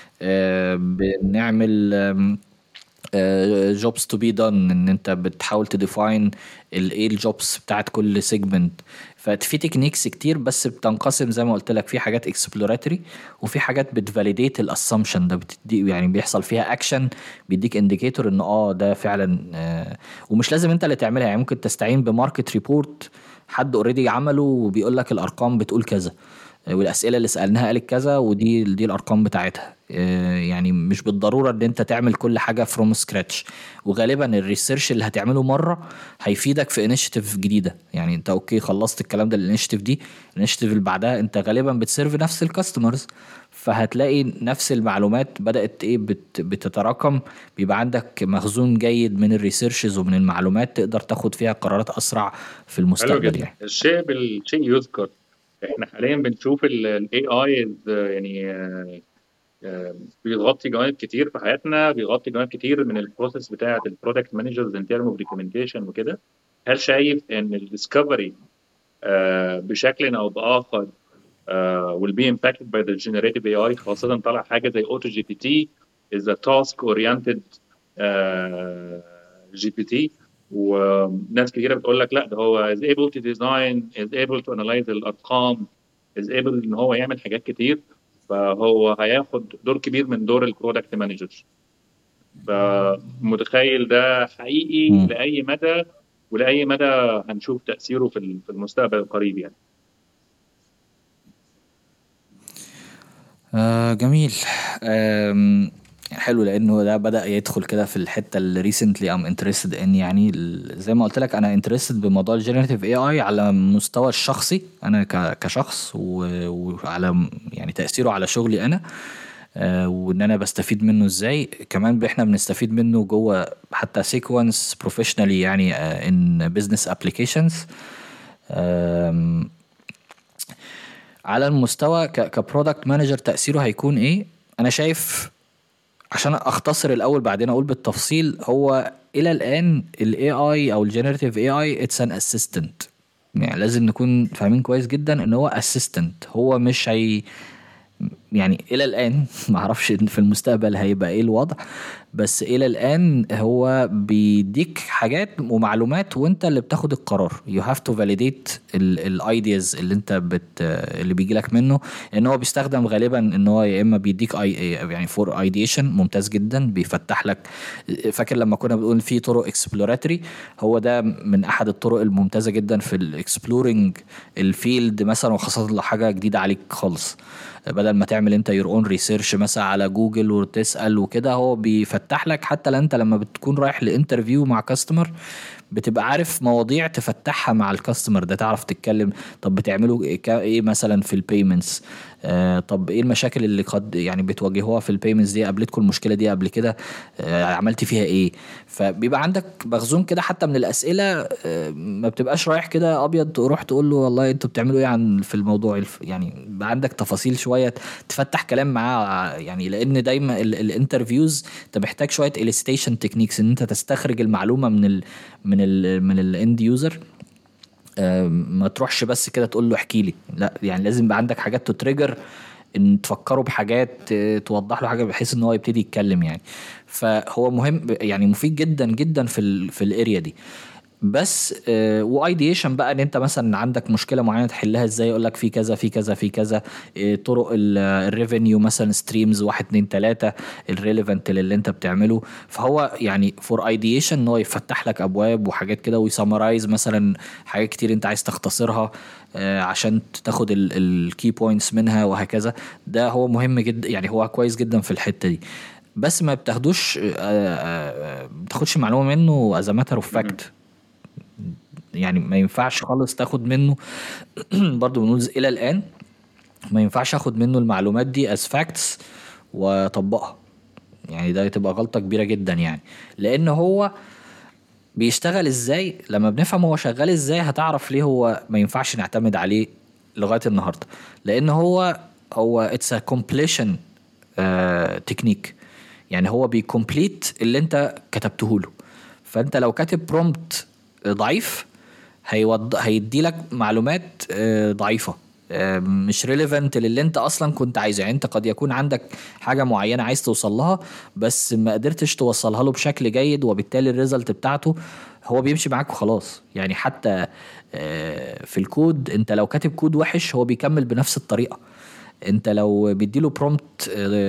بنعمل جوبز تو بي دون، ان انت بتحاول تديفاين ايه الجوبز بتاعت كل سيجمنت. ففي تكنيكس كتير، بس بتنقسم زي ما قلت لك، في حاجات اكسبلوراتوري وفي حاجات بتفاليديت الاسامبشن ده، بتدي يعني بيحصل فيها اكشن، بيديك انديكيتور ان ده فعلا. ومش لازم انت اللي تعملها يعني، ممكن تستعين بماركت ريبورت حد اوريدي عمله وبيقول لك الارقام بتقول كذا، والاسئله اللي سالناها قالت كذا، دي الارقام بتاعتها. يعني مش بالضروره ان انت تعمل كل حاجه فروم سكراتش. وغالبا الريسيرش اللي هتعمله مره هيفيدك في انيشيتيف جديده. يعني انت اوكي خلصت الكلام ده، الانيشيتيف دي الانيشيتيف اللي بعدها انت غالبا بتسيرف نفس الكاستمرز، فهتلاقي نفس المعلومات بدات بتتراكم، بيبقى عندك مخزون جيد من الريسيرشز ومن المعلومات تقدر تاخد فيها قرارات اسرع في حلو المستقبل جدا. يعني. الشيء بالشيء يذكر، احنا حاليا بنشوف الاي اي يعني بيغطي جوانب كتير في حياتنا، بيغطي جوانب كتير من البروسيس بتاعه البرودكت مانجرز ان تيرم اوف ريكومنديشن وكده. هل شايف ان الديسكفري بشكل او باخر will be impacted by the generative AI، خاصة طلع حاجة زي اوتو جي بي تي is a task oriented جي بي تي، وناس كتيرة بتقول لك لا ده هو is able to design is able to analyze الأرقام is able إن هو يعمل حاجات كتير، فهو هياخد دور كبير من دور البرودكت مانجر. فمتخيل ده حقيقي مم. لأي مدى، ولأي مدى هنشوف تأثيره في المستقبل القريب يعني. جميل. حلو، لانه ده بدأ يدخل كده في الحتة اللي recently I'm interested in. يعني زي ما قلت لك انا interested بموضوع الجينيراتيف اي اي على المستوى الشخصي انا كشخص، وعلى يعني تأثيره على شغلي انا. وان انا بستفيد منه ازاي كمان، احنا بنستفيد منه جوه حتى سيكونس بروفيشنالي يعني in business applications. على المستوى كبرودكت مانجر تأثيره هيكون ايه؟ انا شايف، عشان اختصر الاول بعدين اقول بالتفصيل، هو الى الان الاي اي او الجينيراتيف اي اي اتس ان اسيستنت. يعني لازم نكون فاهمين كويس جدا ان هو اسيستنت، هو مش هي يعني الى الان ما اعرفش في المستقبل هيبقى ايه الوضع، بس الى الان هو بيديك حاجات ومعلومات وانت اللي بتاخد القرار. you have to validate الايدياز اللي انت اللي بيجي لك منه. ان هو بيستخدم غالبا ان هو يا اما بيديك يعني فور ايديشن ممتاز جدا، بيفتح لك. فاكر لما كنا بنقول في طرق اكسبلوراتوري، هو ده من احد الطرق الممتازه جدا في الاكسبلورنج الفيلد مثلا، وخاصه لو حاجه جديده عليك خالص. بدل ما تعمل انت يور اون ريسيرش مثلا على جوجل وتسأل وكده، هو بيفتح لك. حتى لو انت لما بتكون رايح لانترفيو مع كاستمر، بتبقى عارف مواضيع تفتحها مع الكاستمر ده، تعرف تتكلم. طب بتعملوا ايه مثلا في البيمنتس؟ طب ايه المشاكل اللي قد يعني بتواجهوها في البيمنتس دي؟ قابلتكم المشكله دي قبل كده؟ عملت فيها ايه؟ فبيبقى عندك مخزون كده حتى من الاسئله. ما بتبقاش رايح كده ابيض تروح تقول له والله انتوا بتعملوا ايه عن في الموضوع يعني بيبقى عندك تفاصيل شويه تفتح كلام معاه. يعني لان دايما الانترفيوز انت محتاج شويه elicitation تكنيكس، ان انت تستخرج المعلومه من الاند يوزر. ما تروحش بس كده تقول له احكي لي، لا يعني لازم يبقى عندك حاجات تتريجر، ان تفكروا بحاجات توضح له حاجه بحيث ان هو يبتدي يتكلم يعني. فهو مهم يعني مفيد جدا جدا في الاريا دي. بس وايديشن بقى ان انت مثلا عندك مشكله معينه تحلها ازاي، يقول لك في كذا في كذا في كذا. طرق الريفينيو مثلا، ستريمز 1 2 3 الريليفنت للي انت بتعمله. فهو يعني فور ايديشن ان هو يفتح لك ابواب وحاجات كده، ويسمرايز مثلا حاجات كتير انت عايز تختصرها عشان تاخد الكي بوينتس منها وهكذا. ده هو مهم جدا يعني، هو كويس جدا في الحته دي. بس ما بتاخدوش بتاخدش معلومه منه از ماتر اوف مهم. فاكت. يعني ما ينفعش خالص تاخد منه برضو بنقول الى الان ما ينفعش اخد منه المعلومات دي as facts واطبقها. يعني ده تبقى غلطة كبيرة جدا يعني. لان هو بيشتغل ازاي، لما بنفهم هو شغال ازاي هتعرف ليه هو ما ينفعش نعتمد عليه لغاية النهاردة. لان هو it's a completion تكنيك. يعني هو بيكمبليت اللي انت كتبته له. فانت لو كاتب برومبت ضعيف، هيدي لك معلومات ضعيفة، مش ريليفنت للي انت اصلا كنت عايزه. يعني انت قد يكون عندك حاجة معينة عايز توصل لها، بس ما قدرتش توصلها له بشكل جيد، وبالتالي الريزلت بتاعته هو بيمشي معاك وخلاص. يعني حتى في الكود، انت لو كاتب كود وحش هو بيكمل بنفس الطريقة. انت لو بيديله برومبت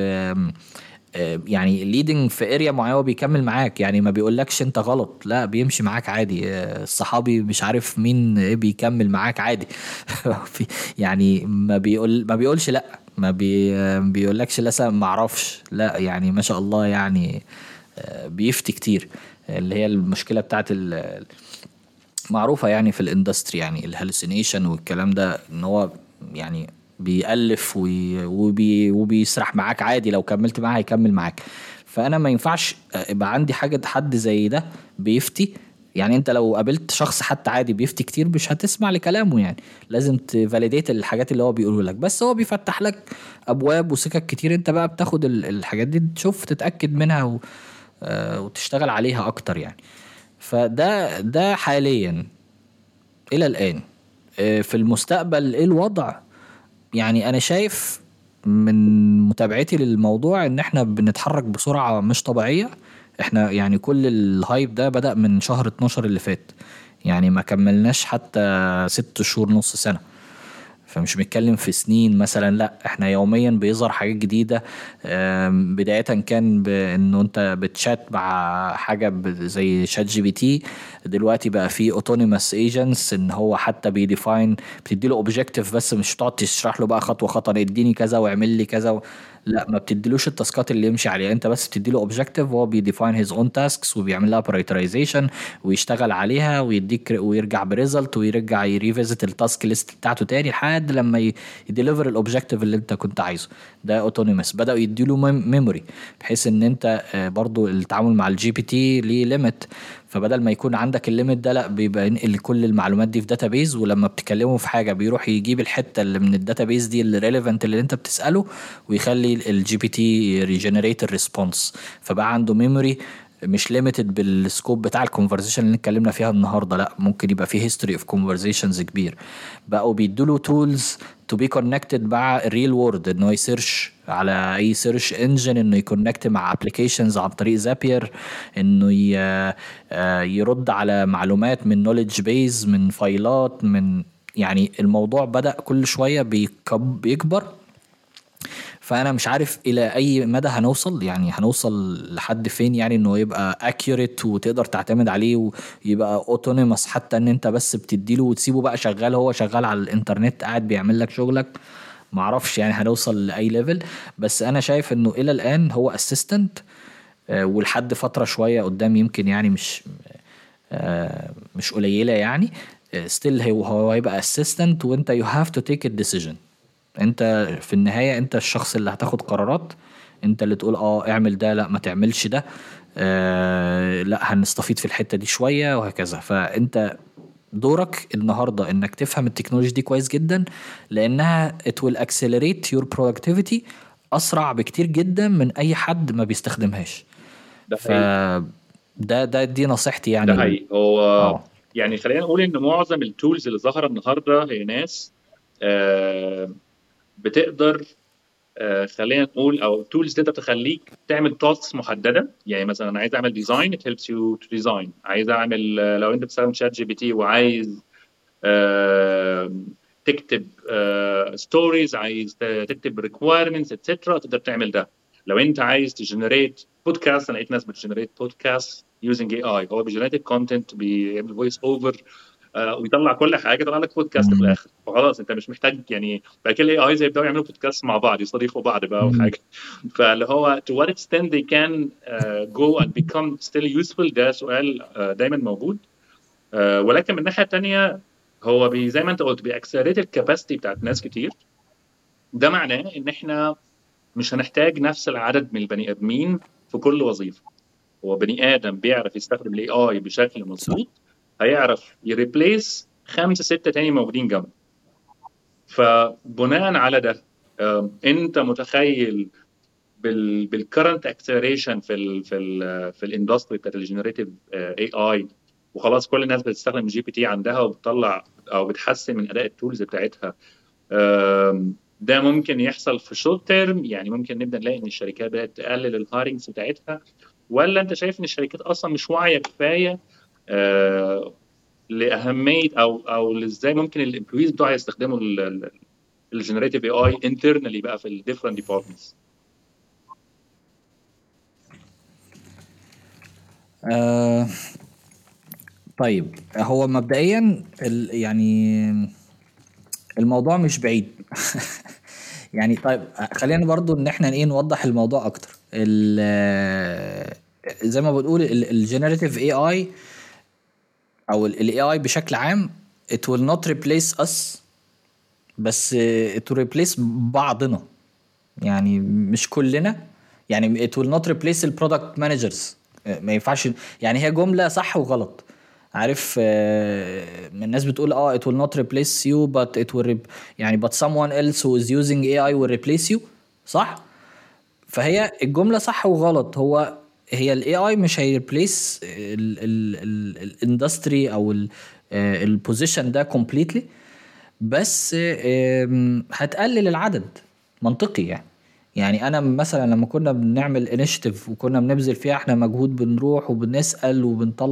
يعني ليدنج في اريا معينه هو بيكمل معاك. يعني ما بيقولكش انت غلط، لا بيمشي معاك عادي. الصحابي مش عارف مين ايه بيكمل معاك عادي. يعني ما بيقولش لا، ما بيقولكش لا ما اعرفش، لا يعني ما شاء الله يعني. بيفتي كتير. اللي هي المشكله بتاعت معروفة يعني في الاندستري، يعني الهلوسينيشن والكلام ده، ان هو يعني بيألف وبيسرح معاك عادي. لو كملت معاه هيكمل معاك. فانا ما ينفعش يبقى عندي حد زي ده بيفتي. يعني انت لو قابلت شخص حتى عادي بيفتي كتير مش هتسمع لكلامه. يعني لازم تفاليديت الحاجات اللي هو بيقوله لك. بس هو بيفتح لك ابواب وسكك كتير، انت بقى بتاخد الحاجات دي تشوف تتأكد منها وتشتغل عليها اكتر يعني. فده حاليا الى الان. في المستقبل ايه الوضع؟ يعني انا شايف من متابعتي للموضوع ان احنا بنتحرك بسرعة مش طبيعية. احنا يعني كل الهايب ده بدأ من شهر 12 اللي فات، يعني ما كملناش حتى 6 شهور نص سنة. فمش بنتكلم في سنين مثلا، لا احنا يوميا بيظهر حاجات جديدة. بداية كان بانه انت بتشات مع حاجة زي شات جي بي تي، دلوقتي بقى في اوتونيموس ايجنتس ان هو حتى بيديفاين، بتديله اوبجيكتيف بس مش تقعد تشرح له بقى خطوة خطوة اديني كذا واعمل لي كذا. لا ما بتديلوش التاسكات اللي يمشي عليها، انت بس بتديله اوبجيكتيف وهو بيديفاين هيز اون تاسكس وبيعمل لها برايورتيزيشن ويشتغل عليها ويديك ويرجع بريزلت ويرجع يريفيزت التاسك ليست بتاعته تاني لحد لما يديليفر الاوبجيكتيف اللي انت كنت عايزه. ده اوتونيموس. بداوا يديله ميموري بحيث ان انت برضو التعامل مع الجي بي تي ليه ليميت، فبدل ما يكون عندك الليميت ده لا بيبقى ينقل كل المعلومات دي في داتابيز، ولما بتكلمه في حاجه بيروح يجيب الحته اللي من الداتابيز دي اللي ريليفنت اللي انت بتساله ويخلي الجي بي تي ريجنريت الريسبونس. فبقى عنده ميموري مش ليميتد بالسكوب بتاع الكونفرزيشن اللي اتكلمنا فيها النهارده، لا ممكن يبقى فيه هيستوري اوف كونفرزيشنز كبير. بقوا بيدوا تولز تو بي كونكتد مع الريل وورد، انه يسيرش على اي سيرش انجن، انه يكونكت مع ابلكيشنز عن طريق زابير، انه يرد على معلومات من نوليدج بيز، من فايلات، من يعني الموضوع بدأ كل شوية بيكبر. فانا مش عارف الى اي مدى هنوصل، يعني هنوصل لحد فين، يعني انه يبقى accurate وتقدر تعتمد عليه ويبقى autonomous، حتى ان انت بس بتديله وتسيبه بقى شغال، هو شغال على الانترنت قاعد بيعمل لك شغلك. معرفش يعني هنوصل لاي ليفل، بس انا شايف انه الى الان هو assistant، ولحد فترة شوية قدام يمكن يعني مش قليلة يعني. still هو هيبقى assistant، وانت you have to take a decision. انت في النهاية انت الشخص اللي هتاخد قرارات، انت اللي تقول اعمل ده، لا ما تعملش ده، لا هنستفيد في الحتة دي شوية وهكذا. فانت دورك النهاردة انك تفهم التكنولوجيا دي كويس جدا، لانها it will accelerate your productivity اسرع بكتير جدا من اي حد ما بيستخدمهاش. ده ف حقيقي. دي نصيحتي ده يعني حقيقي. هو اه يعني خلينا نقول ان معظم التولز اللي ظاهره النهارده هي ناس بتقدر، خلينا نقول، او تولز تقدر تخليك تعمل تاسكس محدده. يعني مثلا انا عايز اعمل ديزاين، it helps you to design. عايز اعمل لو انت بتستخدم شات جي بي تي وعايز تكتب ستوريز، عايز تكتب ريكوايرمنتس اتسترا، تقدر تعمل ده. لو انت عايز تجنريت بودكاست، انا لقيت ناس بتجنريت بودكاست يوزنج اي اي، هو بيجنريت كونتنت، بيعمل فويس اوفر ويطلع كل حاجه، يطلع لك بودكاست في مم. الاخر. فخلاص انت مش محتاج يعني بعد كده الاي اي زي يبداوا يعملوا بودكاست مع بعض، يستضيفوا بعض بقى مم. وحاجه. فاللي هو to what extent they can go and become still useful، ده سؤال دايما موجود. ولكن من الناحيه الثانيه هو زي ما انت قلت بيأكسلريت الكاباسيتي بتاعت ناس كتير. ده معناه ان احنا مش هنحتاج نفس العدد من البني ادمين في كل وظيفه. هو بني ادم بيعرف يستخدم الاي اي بشكل صح. مظبوط هيعرف يريبليس خمسه سته تاني موجودين جنبه. فبناء على ده انت متخيل بالكرنت اكسلريشن في الاندستري بتاعت الجنريتيف اي اي، وخلاص كل الناس بتستخدم جي بي تي عندها وبتطلع او بتحسن من اداء التولز بتاعتها. ده ممكن يحصل في شورت تيرم، يعني ممكن نبدا نلاقي ان الشركات بدات تقلل الهايرنجز بتاعتها، ولا انت شايف ان الشركات اصلا مش واعيه كفايه لاهميه او ازاي ممكن الامبلويز بتوعها يستخدموا الجنريتيف اي اي انترنالي بقى في الديفرنت ديبارتمنتس؟ آه طيب هو مبدئيا يعني الموضوع مش بعيد. يعني طيب خلينا برضو ان احنا ايه نوضح الموضوع اكتر. زي ما بتقول الجنريتيف اي اي او الاي اي بشكل عام it will not replace us، بس it will replace بعضنا، يعني مش كلنا. يعني it will not replace البرودكت مانجرز، ما ينفعش. يعني هي جملة صح وغلط، عارف. الناس بتقول it will not replace you but it will يعني but someone else who is using AI will replace you، صح. فهي الجملة صح وغلط. هي الاي اي مش هيريبليس الاندستري او البوزيشن ده كومبليتلي، بس هتقلل العدد منطقي يعني. يعني انا مثلا لما كنا بنعمل انيشيتيف وكنا بنبذل فيها احنا مجهود، بنروح وبنسال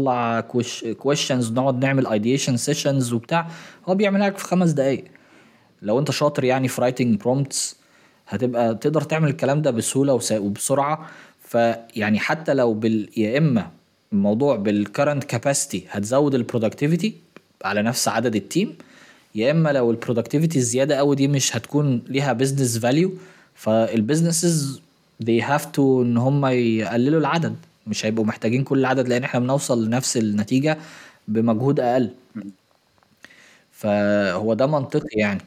وبنطلع كويشنز، نقعد نعمل ايديشن سيشنز وبتاع، هو بيعملها لك في 5 دقايق. لو انت شاطر يعني في رايتنج برومبتس هتبقى تقدر تعمل الكلام ده بسهولة وبسرعة. فيعني حتى لو يا اما الموضوع بالكرنت كاباسيتي هتزود البرودكتيفيتي على نفس عدد التيم، يا اما لو البرودكتيفيتي الزياده قوي دي مش هتكون ليها بزنس فاليو، فالبيزنسز they have to ان هم يقللوا العدد، مش هيبقوا محتاجين كل العدد لان احنا بنوصل لنفس النتيجه بمجهود اقل. فهو ده منطقي يعني.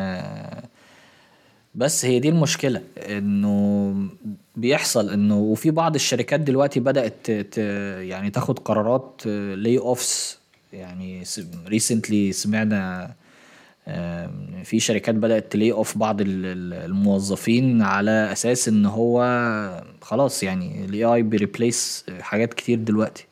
بس هي دي المشكلة انه بيحصل انه وفي بعض الشركات دلوقتي بدأت يعني تاخد قرارات لي اوفس. يعني ريسنتلي سمعنا في شركات بدأت تلي اوف بعض الموظفين على اساس ان هو خلاص يعني الاي اي بيريبليس حاجات كتير دلوقتي.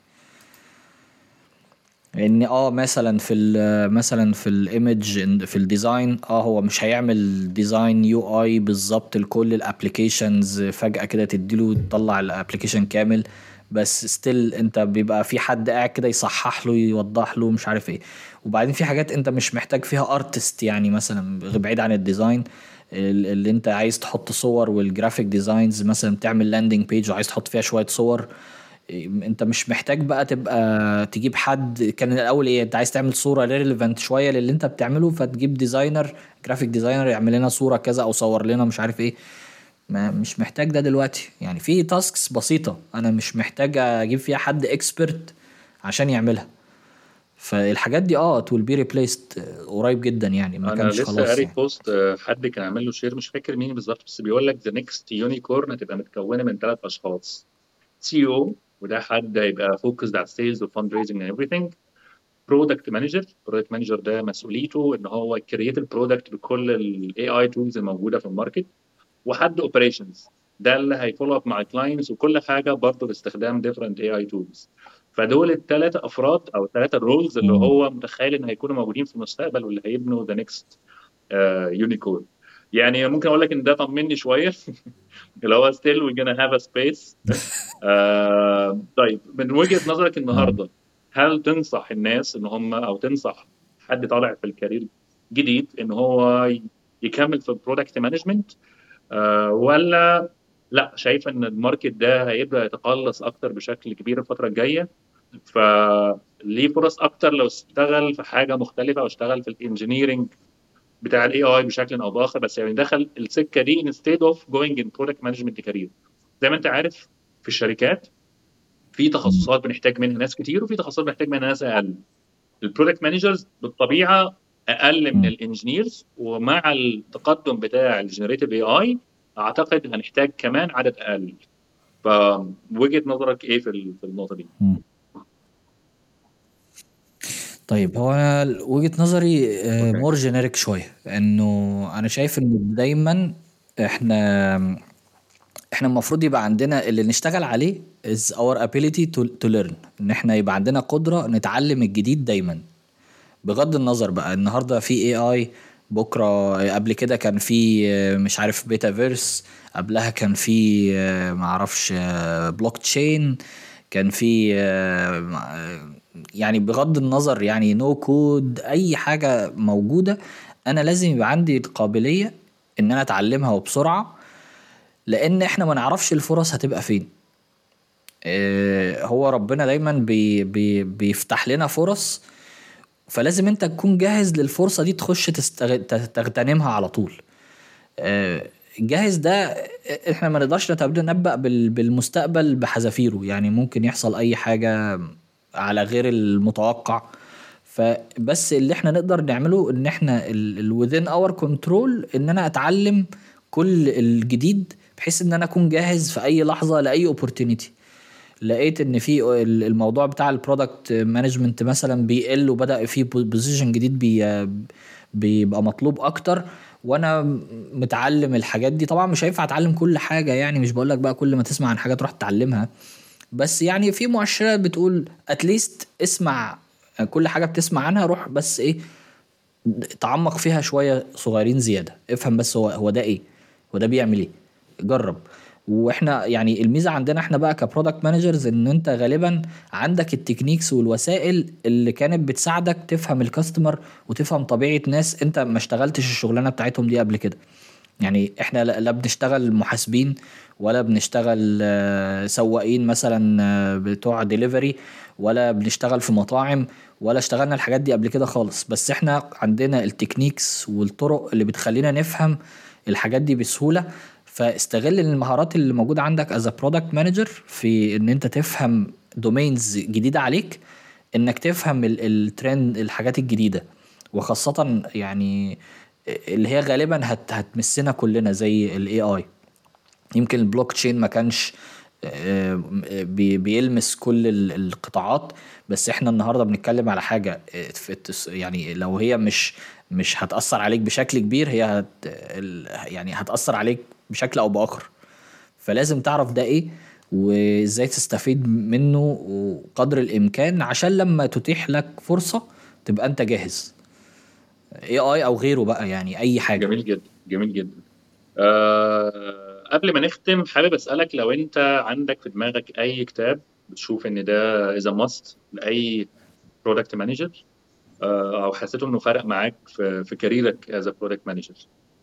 ان مثلا مثلا في الايمج في الديزاين هو مش هيعمل ديزاين يو اي بالظبط لكل الابليكيشنز فجأة كده تديله تطلع الابليكيشن كامل، بس ستيل انت بيبقى في حد قاعد كده يصحح له يوضح له مش عارف ايه. وبعدين في حاجات انت مش محتاج فيها ارتست، يعني مثلا بعيد عن الديزاين اللي انت عايز تحط صور والجرافيك ديزاينز، مثلا تعمل لاندنج بيج وعايز تحط فيها شوية صور، انت مش محتاج بقى تبقى تجيب حد. كان الاول انت عايز تعمل صورة ريليفنت شوية للي انت بتعمله فتجيب ديزاينر جرافيك ديزاينر يعمل لنا صورة كذا او صور لنا مش عارف ايه. ما مش محتاج ده دلوقتي، يعني في تاسكس بسيطة انا مش محتاج اجيب فيها حد اكسبرت عشان يعملها. فالحاجات دي it will be replaced قريب جدا يعني، ما انا كانش لسه خلاص قاري يعني. بوست، حد كان عامل له شير، مش فاكر مين بالظبط، بس بيقول لك ذا نيكست يونيكورن هتبقى متكونه من 3 اشخاص: سي او، وده حد هيبقى فوكسد على سيلز وفند ريزنج اند everything. برودكت مانجر ده مسؤوليته ان هو يكريت البرودكت بكل الاي اي تولز الموجوده في الماركت. وحد اوبريشنز، ده اللي هيفولو اب مع الكلاينتس وكل حاجه برضه باستخدام ديفرنت اي اي تولز. فدول ال3 افراد او ال3 رولز اللي مم. هو متخيل ان هيكونوا موجودين في المستقبل واللي هيبنوا ذا نيكست يونيكورن. يعني ممكن اقول لك ان ده طمني شويه اللي هو still we're gonna have a space. طيب، من وجهة نظرك اه النهارده، هل تنصح الناس ان هم، او تنصح حد طالع في الكارير جديد ان هو يكمل في البرودكت مانجمنت، ولا لا شايف ان الماركت ده هيبدأ يتقلص اكتر بشكل كبير الفترة الجاية، فليه فرص اكتر لو اشتغل في حاجة مختلفة او اشتغل في الانجينيرنج بتاع الاي اي بشكل او باخر، بس يعني دخل السكة دي instead of going in product management career. زي ما انت عارف، في الشركات في تخصصات بنحتاج منها ناس كتير وفي تخصصات بنحتاج منها ناس اقل. البرودكت مانجرز بالطبيعه اقل من الانجينيرز، ومع التقدم بتاع الجنريتيف اي اي اعتقد هنحتاج كمان عدد اقل. فوجهه نظرك ايه في النقطه دي؟ مم. طيب هو انا وجهة نظري اوكي. مور جينيريك شويه، انه انا شايف ان دايما احنا المفروض يبقى عندنا اللي نشتغل عليه is our ability to learn، ان احنا يبقى عندنا قدرة نتعلم الجديد دايما. بغض النظر بقى النهاردة في اي اي، بكرة قبل كده كان في مش عارف بيتافيرس، قبلها كان في معرفش بلوك تشين، كان في يعني بغض النظر يعني نو كود اي حاجة موجودة، انا لازم يبقى عندي القابلية ان انا اتعلمها وبسرعة، لان احنا ما نعرفش الفرص هتبقى فين. هو ربنا دايما بيفتح لنا فرص، فلازم انت تكون جاهز للفرصة دي تخش تغتنمها على طول. جاهز ده احنا ما نقدرش نتنبأ بالمستقبل بحذافيره، يعني ممكن يحصل اي حاجة على غير المتوقع. فبس اللي احنا نقدر نعمله ان احنا within our control ان انا اتعلم كل الجديد بحيث ان انا اكون جاهز في اي لحظة لاي opportunity. لقيت ان في الموضوع بتاع البرودكت مانجمنت مثلا بيقل وبدأ في بوزيشن جديد بيبقى مطلوب اكتر، وانا متعلم الحاجات دي. طبعا مش هينفع اتعلم كل حاجة، يعني مش بقولك بقى كل ما تسمع عن حاجة تروح تتعلمها، بس يعني في مؤشرات بتقول اتليست اسمع كل حاجة بتسمع عنها، روح بس ايه تعمق فيها شوية صغيرين زيادة، افهم بس هو ده ايه، هو ده بيعمل ايه، جرب. واحنا يعني الميزه عندنا احنا بقى كبرودكت مانجرز ان انت غالبا عندك التكنيكس والوسائل اللي كانت بتساعدك تفهم الكاستمر وتفهم طبيعه ناس انت ما اشتغلتش الشغلانه بتاعتهم دي قبل كده. يعني احنا لا بنشتغل محاسبين ولا بنشتغل سواقين مثلا بتوع ديليفري، ولا بنشتغل في مطاعم، ولا اشتغلنا الحاجات دي قبل كده خالص. بس احنا عندنا التكنيكس والطرق اللي بتخلينا نفهم الحاجات دي بسهولة. فاستغل المهارات اللي موجودة عندك as a product manager في ان انت تفهم دومينز جديدة عليك، انك تفهم الترند الحاجات الجديدة، وخاصة يعني اللي هي غالبا هتمسنا كلنا زي الاي اي. يمكن البلوك تشين ما كانش بيلمس كل القطاعات، بس احنا النهارده بنتكلم على حاجه يعني لو هي مش هتأثر عليك بشكل كبير، هي يعني هتأثر عليك بشكل او بآخر. فلازم تعرف ده ايه وازاي تستفيد منه وقدر الامكان عشان لما تتيح لك فرصة تبقى انت جاهز، اي اي او غيره بقى، يعني اي حاجة. جميل جدا، جميل جدا. قبل ما نختم حابب أسألك لو أنت عندك في دماغك أي كتاب بتشوف إن ده is a must لأي product manager، أو حسيته إنه فرق معاك في كاريرك as a product manager.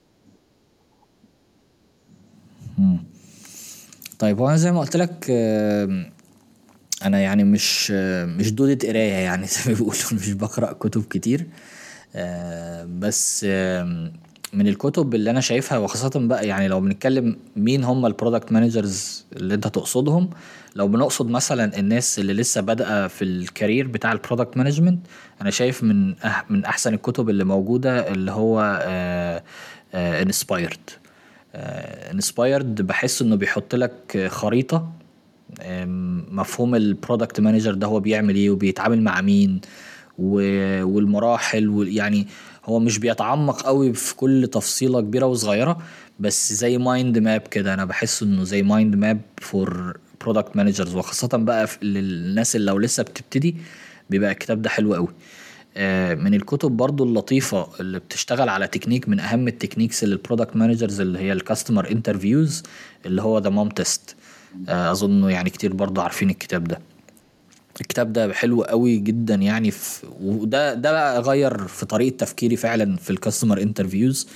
مم. طيب وانا زي ما قلت لك انا يعني مش دودة قراية يعني زي ما بيقولوا مش بقرأ كتب كتير. بس من الكتب اللي انا شايفها، وخاصة بقى يعني لو بنتكلم مين هم البرودكت مانجرز اللي انت تقصدهم، لو بنقصد مثلا الناس اللي لسه بادئه في الكارير بتاع البرودكت مانجمنت، انا شايف من احسن الكتب اللي موجودة اللي هو انسبايرد. انسبايرد بحس انه بيحط لك خريطة مفهوم البرودكت مانجر ده هو بيعمل ايه وبيتعامل مع مين والمراحل، يعني هو مش بيتعمق قوي في كل تفصيلة كبيرة وصغيرة، بس زي مايند ماب كده. انا بحس انه زي مايند ماب فور برودكت مانجرز، وخاصة بقى للناس اللي لو لسه بتبتدي بيبقى الكتاب ده حلو قوي. من الكتب برضو اللطيفة اللي بتشتغل على تكنيك من اهم التكنيكس للبرودكت مانجرز اللي هي الكاستمر انترفيوز، اللي هو ذا مام تيست. اظن يعني كتير برضو عارفين الكتاب ده. الكتاب ده حلو قوي جدا يعني وده بقى غير في طريقة تفكيري فعلا في الكاستمر انترفيوز.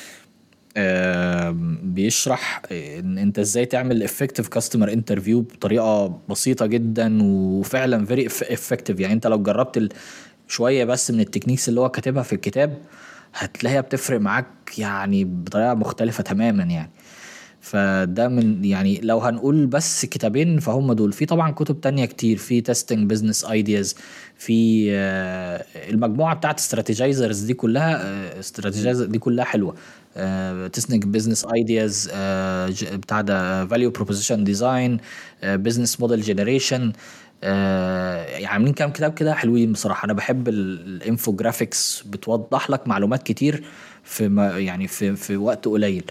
بيشرح ان انت ازاي تعمل effective customer interview بطريقة بسيطة جدا وفعلا very effective. يعني انت لو جربت شوية بس من التكنيكس اللي هو كاتبها في الكتاب هتلاقيها بتفرق معاك يعني بطريقة مختلفة تماما يعني. فده من يعني لو هنقول بس كتابين فهم دول. في طبعا كتب تانية كتير، في تيستنج بزنس ايدياز، في المجموعة بتاعت استراتيجايزرز دي كلها، استراتيجايزر دي كلها حلوة. تيستنج بزنس ايدياز بتاع ده، فاليو بروبوزيشن ديزاين، بزنس موديل جنريشن. يعني عاملين كام كتاب كده حلوين بصراحة. انا بحب الانفوجرافيكس، بتوضح لك معلومات كتير في يعني في وقت قليل.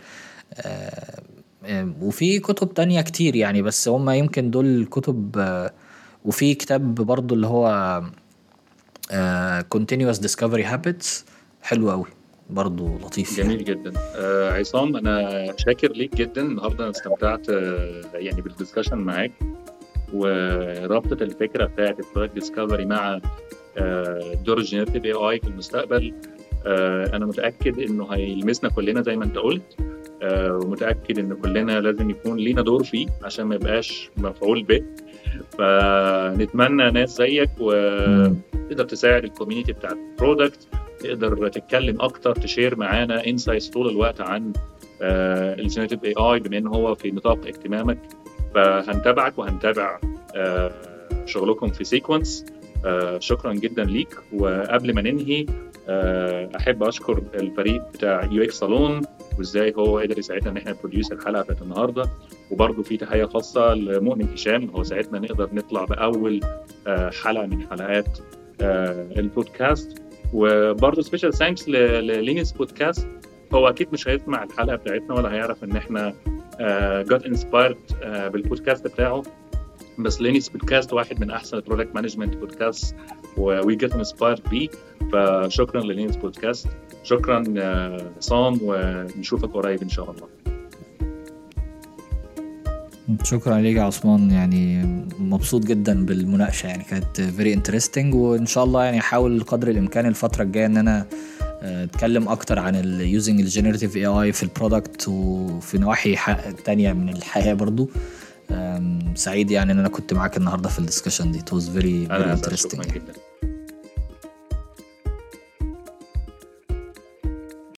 وفي كتب تانية كتير يعني، بس هم يمكن دول الكتب. وفي كتاب برضو اللي هو Continuous Discovery Habits، حلو قوي برضو، لطيف جميل يعني. جدا. عصام، انا شاكر ليك جدا النهارده. انا استمتعت يعني بالدسكشن معاك، ورابطه الفكره بتاعت البرودكت ديسكفري مع دور الجينيريتيف اي اي في المستقبل. انا متاكد انه هيلمسنا كلنا زي ما انت قلت، ومتاكد ان كلنا لازم يكون لينا دور فيه عشان ما يبقاش مفعول به. فنتمنى ناس زيك وتقدر تساعد الكوميونتي بتاع البرودكت، تقدر تتكلم اكتر، تشير معانا انسايتس طول الوقت عن الجينيريتيف اي اي بما ان هو في نطاق اهتمامك. فهنتابعك وهنتابع شغلكم في سيكونس. شكرا جدا ليك. وقبل ما ننهي احب اشكر الفريق بتاع يو اكس صالون وازاي هو قدر يساعدنا ان احنا نبروديوس الحلقه بتاعت النهارده. وبرضه في تحيه خاصه لمؤمن هشام، هو ساعدنا نقدر نطلع باول حلقه من حلقات البودكاست. وبرضه سبيشال ثانكس للينكس بودكاست، هو اكيد مش هيسمع الحلقه بتاعتنا ولا هيعرف ان احنا got inspired بالبودكاست بتاعه، بس لينكس بودكاست واحد من احسن البرودكت مانجمنت بودكاست وي جيت انسبايرد بيه. فشكرا للينكس بودكاست. شكرا عصام، ونشوفك قريب ان شاء الله. شكرا ليك يا عثمان، يعني مبسوط جدا بالمناقشة، يعني كانت very interesting، وإن شاء الله يعني أحاول قدر الإمكان الفترة الجاية إن أنا أتكلم أكتر عن using الجينيراتيف AI في البرودكت وفي نواحي تانية من الحياة برضو. سعيد يعني إن أنا كنت معاك النهاردة في الدسكشن دي. it was very أنا very interesting شكرا يعني. جدا.